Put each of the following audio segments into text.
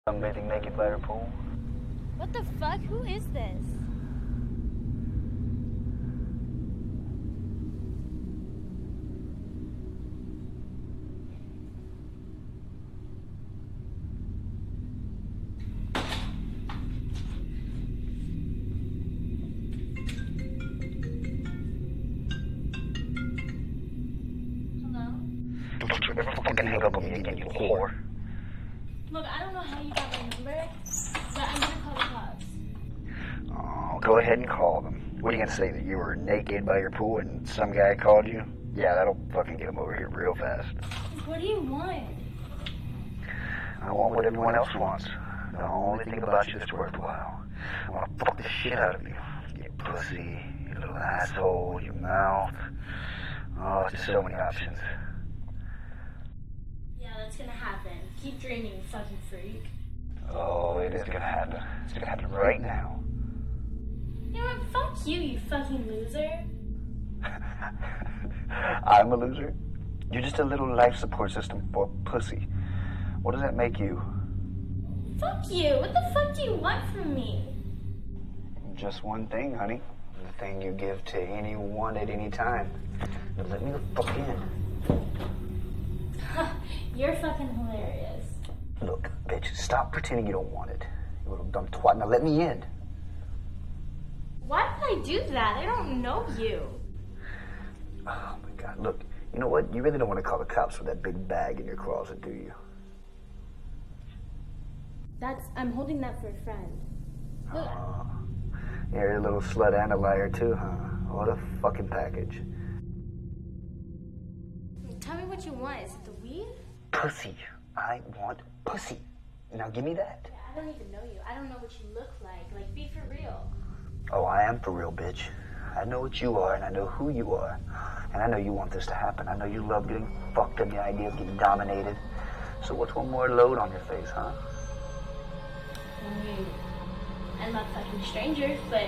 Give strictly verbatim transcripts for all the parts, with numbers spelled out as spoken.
Sunbathing naked by her pool. What the fuck? Who is this? Don't you ever fucking hang up on me again, you whore. Look, I don't know how you got my number, but I'm gonna call the cops. Oh, go ahead and call them. What are you gonna say, that you were naked by your pool and some guy called you? Yeah, that'll fucking get him over here real fast. What do you want? I want what everyone else wants. The only thing about you that's worthwhile. I want to fuck the shit out of you. Your pussy, your little asshole, your mouth. Oh, just so many options. Yeah, that's gonna happen. Keep dreaming, you fucking freak. Oh, it is gonna happen. It's gonna happen right now. You know what? Fuck you, you fucking loser. I'm a loser? You're just a little life support system for pussy. What does that make you? Fuck you. What the fuck do you want from me? Just one thing, honey. The thing you give to anyone at any time. Now let me the fuck in. You're fucking hilarious. Look, bitch, stop pretending you don't want it. You little dumb twat. Now let me in. Why did I do that? I don't know you. Oh my God, look, you know what? You really don't want to call the cops with that big bag in your closet, do you? That's, I'm holding that for a friend. Look. Oh, you're a little slut and a liar too, huh? What a fucking package. Tell me what you want. Is it the weed? Pussy. I want pussy. Now give me that. Yeah, I don't even know you. I don't know what you look like. Like, be for real. Oh, I am for real, bitch. I know what you are, and I know who you are. And I know you want this to happen. I know you love getting fucked and the idea of getting dominated. So what's one more load on your face, huh? I mean, I'm not fucking strangers, but...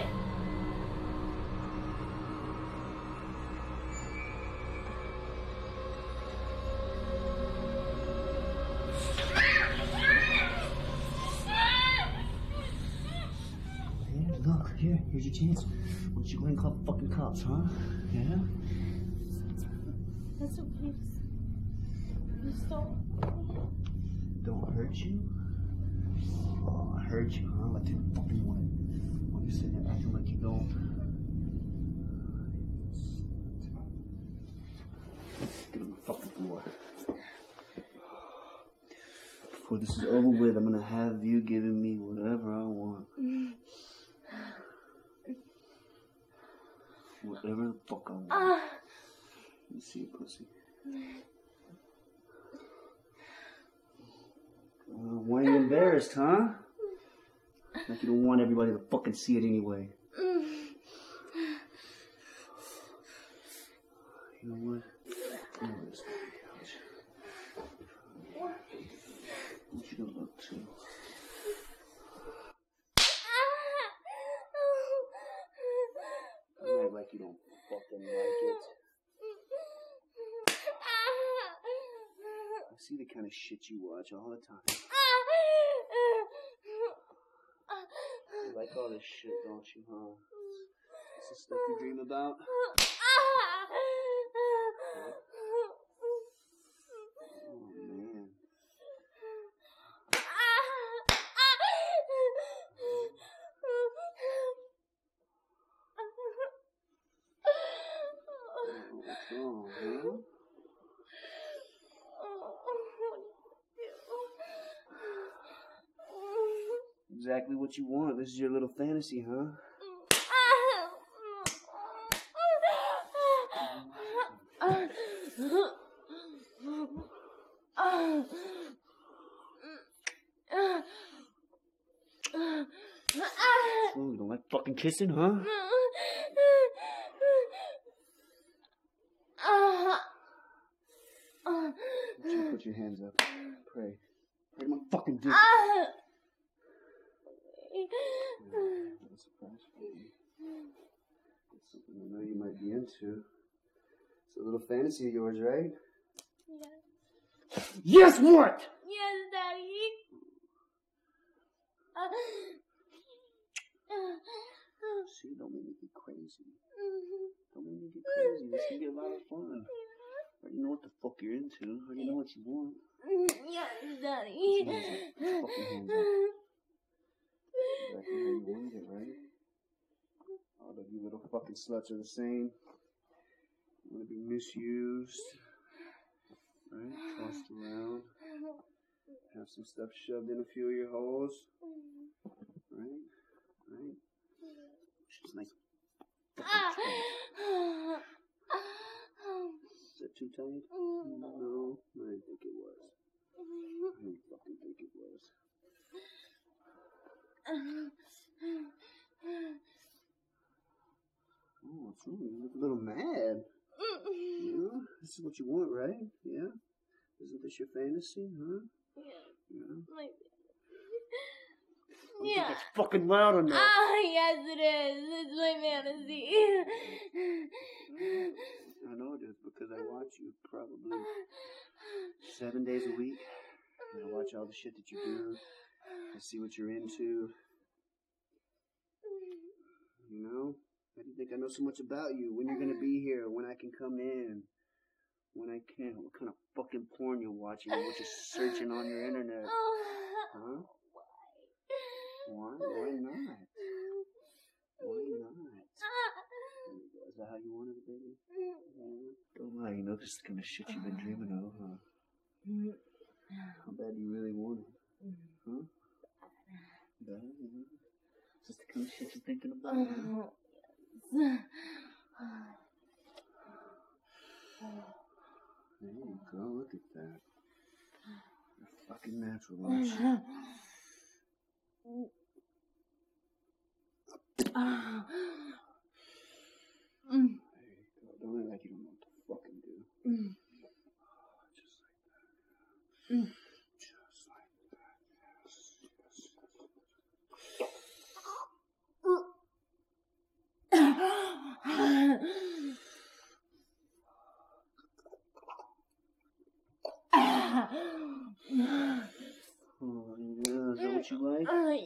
Look, here, here's your chance. Why don't you go ahead and call the fucking cops, huh? Yeah? That's okay. Just don't. Don't hurt you? Oh, I hurt you, huh? Like you fucking want. Why you sitting there acting like you don't? Get on the fucking floor. Before this is over with, I'm gonna have you giving me whatever I want. Whatever the fuck I want. Uh, Let me see your pussy. Uh, why are you embarrassed, huh? Like you don't want everybody to fucking see it anyway. You know what? I'm gonna just go on the couch. I want you to look too. Act like you don't fucking like it. I see the kind of shit you watch all the time. You like all this shit, don't you, huh? This is stuff you dream about? Oh, man. What's wrong, huh? Exactly what you want. This is your little fantasy, huh? Oh, you don't like fucking kissing, huh? You put your hands up. Pray. Pray to my fucking dick. What a surprise for you. It's something I know you might be into. It's a little fantasy of yours, right? Yes. Yes, what? Yes, Daddy. See, don't make me get crazy. Don't make me get crazy. This can be a lot of fun. I already know what the fuck you're into. I already know what you want. Yes, Daddy. Put your hands up. Put your fucking hands up. Exactly how you wanted it, right? All of you little fucking sluts are the same. You want to be misused, right? Tossed around. Have some stuff shoved in a few of your holes. Right? Right? She's like, is that too tight? No, I didn't think it was. I didn't fucking think it was. Oh, what's wrong? You look a little mad. Yeah? This is what you want, right? Yeah? Isn't this your fantasy, huh? Yeah. Yeah? My I don't Yeah. think it's fucking loud enough. Ah, yes, it is. It's my fantasy. I know it is because I watch you probably seven days a week. And I watch all the shit that you do. I see what you're into. You know? I didn't think I know so much about you. When you're gonna be here, when I can come in, when I can, what kind of fucking porn you're watching, what you're searching on your internet. Huh? Why? Why not? Why not? Is that how you wanted it, baby? Yeah. Don't lie, you know this is the kind of shit you've been dreaming of, huh? How bad do you really want it? Huh? Bad, yeah. Is this the kind of shit you're thinking about, huh? There you go, look at that. You're fucking natural, aren't you? There you go. Don't act like you don't know what to fucking do. Oh, just like that. Just like that. Yes. Oh, yeah. Is that what you like?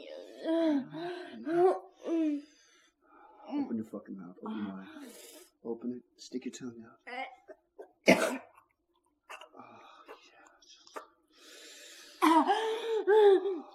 Open your fucking mouth. Open your mouth. Open it. Stick your tongue out. Oh, yeah.